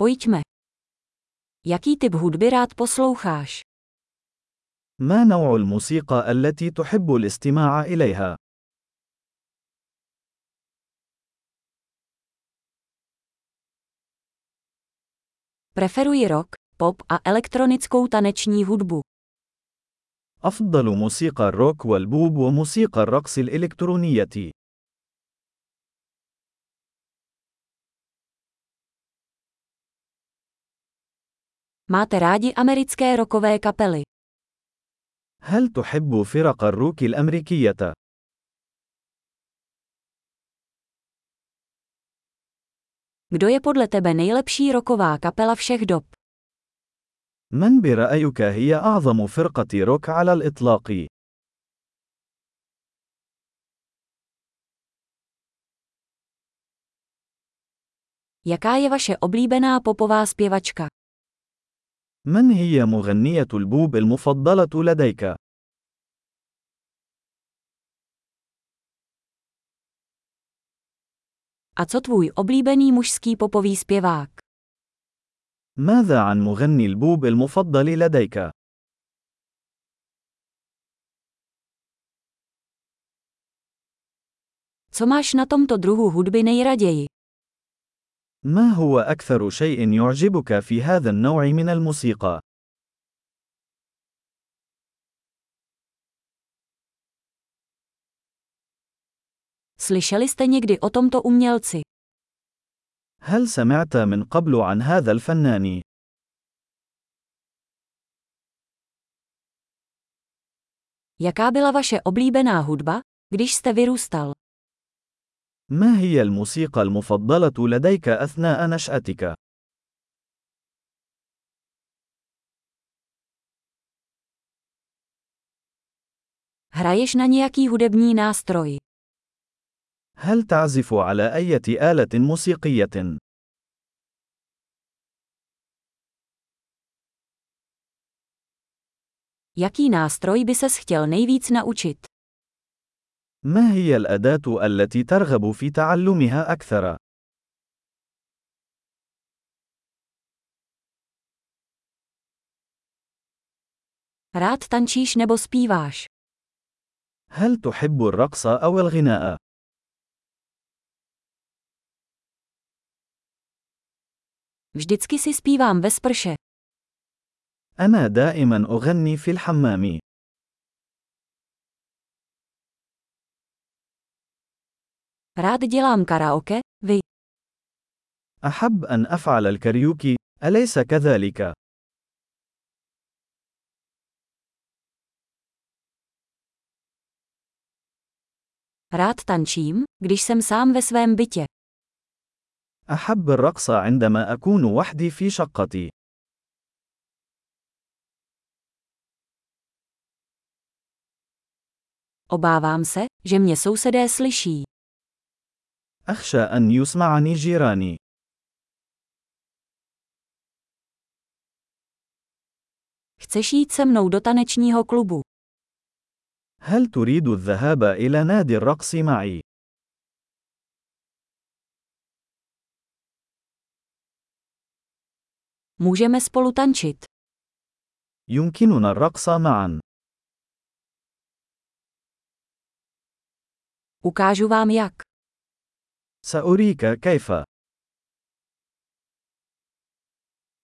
Pojďme. Jaký typ hudby rád posloucháš? ما نوع الموسيقى التي تحب الاستماع إليها؟ Preferuji rock, pop a elektronickou taneční hudbu. أفضل موسيقى الروك والبوب وموسيقى الرقص الإلكترونية. Máte rádi americké rockové kapely? هل تحب فرق الروك الأمريكية؟ Kdo je podle tebe nejlepší rocková kapela všech dob? من برأيك هي أعظم فرقة روك على الإطلاق؟ Jaká je vaše oblíbená popová zpěvačka? من هي مغنية البوب المفضلة لديك؟ A co tvůj oblíbený mužský popový zpěvák? ماذا عن مغني البوب المفضل لديك؟ Co máš na tomto druhu hudby nejraději? ما هو أكثر شيء يعجبك في هذا النوع من الموسيقى؟ Slyšeli jste někdy o tomto umělci? هل سمعت من قبل عن هذا الفنان؟ Jaká byla vaše oblíbená hudba, když jste vyrůstal? ما هي الموسيقى المفضلة لديك أثناء نشأتك؟ Hraješ na nějaký hudební nástroj? هل تعزف على أي آلة موسيقية؟ Jaký nástroj by ses chtěl nejvíc naučit? ما هي الأداة التي ترغب في تعلمها أكثر؟ Rád tančíš nebo zpíváš? هل تحب الرقص أو الغناء؟ Vždycky si zpívám ve sprše. أنا دائما أغني في الحمام. Rád dělám karaoke, vy. أحب أن أفعل الكاريوكي، أليس كذلك؟ Rád tančím, když jsem sám ve svém bytě. أحب الرقص عندما أكون وحدي في شقتي. Obávám se, že mě sousedé slyší. أخشى أن يسمعني جيراني. Chceš jít se mnou do tanečního klubu? هل تريد الذهاب إلى نادي الرقص معي؟ Můžeme spolu tančit. يمكننا الرقص معا. Ukážu vám jak. سأريك كيف.